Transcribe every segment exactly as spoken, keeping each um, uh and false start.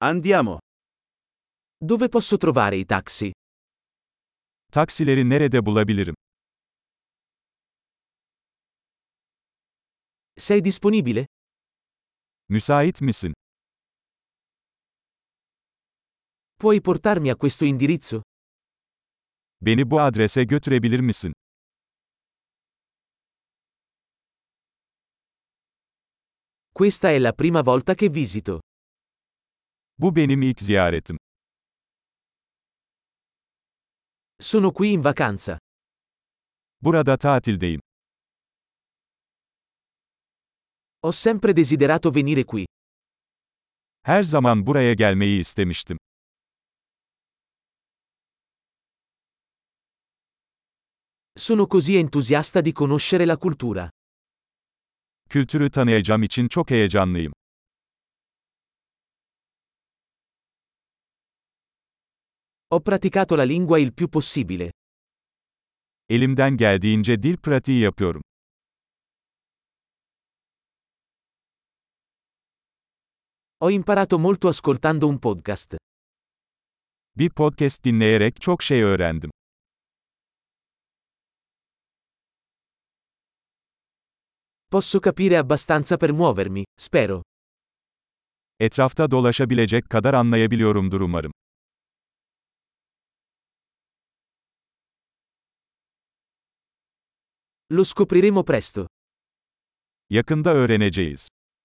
Andiamo. Dove posso trovare i taxi? Taksileri nerede bulabilirim? Sei disponibile? Müsait misin? Puoi portarmi a questo indirizzo? Beni bu adrese götürebilir misin? Questa è la prima volta che visito. Bu benim ilk ziyaretim. Sono qui in vacanza. Burada tatildeyim. Ho sempre desiderato venire qui. Her zaman buraya gelmeyi istemiştim. Sono così entusiasta di conoscere la cultura. Kültürü tanıyacağım için çok heyecanlıyım. Ho praticato la lingua il più possibile. Elimden geldiğince dil pratiği yapıyorum. Ho imparato molto ascoltando un podcast. Bir podcast dinleyerek çok şey öğrendim. Posso capire abbastanza per muovermi, spero. Etrafta dolaşabilecek kadar anlayabiliyorumdur umarım. Lo scopriremo presto. Yakında öğreneceğiz.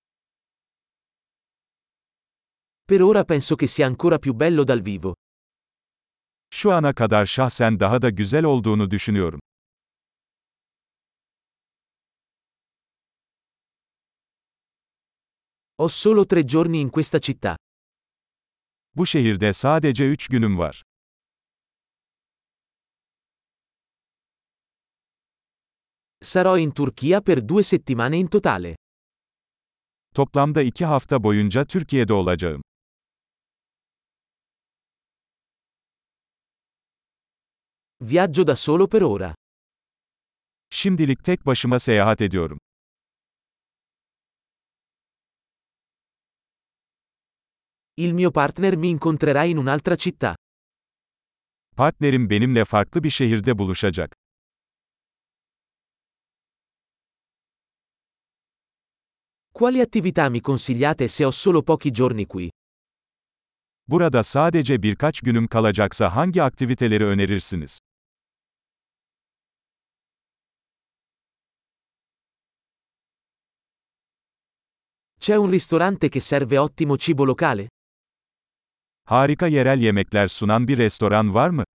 Per ora penso che sia ancora più bello dal vivo. Şu ana kadar şahsen daha da güzel olduğunu düşünüyorum. Ho solo tre giorni in questa città. Bu şehirde sadece üç günüm var. Sarò in Turchia per due settimane in totale. Toplamda iki hafta boyunca Türkiye'de olacağım. Viaggio da solo per ora. Şimdilik tek başıma seyahat ediyorum. Il mio partner mi incontrerà in un'altra città. Partnerim benimle farklı bir şehirde buluşacak. Quali attività mi consigliate se ho solo pochi giorni qui? Burada sadece birkaç günüm kalacaksa hangi aktiviteleri önerirsiniz? C'è un ristorante che serve ottimo cibo locale? Harika yerel yemekler sunan bir restoran var mı?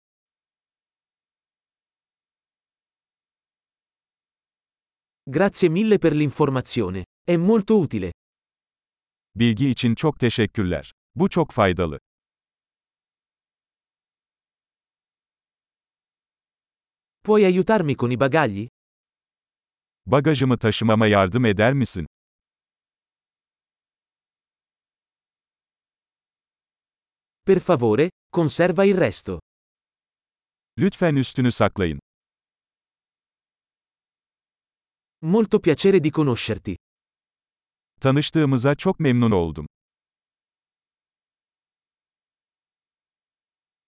Grazie mille per l'informazione. È molto utile. Bilgi için çok teşekkürler. Bu çok faydalı. Puoi aiutarmi con i bagagli? Bagajımı taşımama yardım eder misin? Per favore, conserva il resto. Lütfen üstünü saklayın. Molto piacere di conoscerti. Tanıştığımıza çok memnun oldum.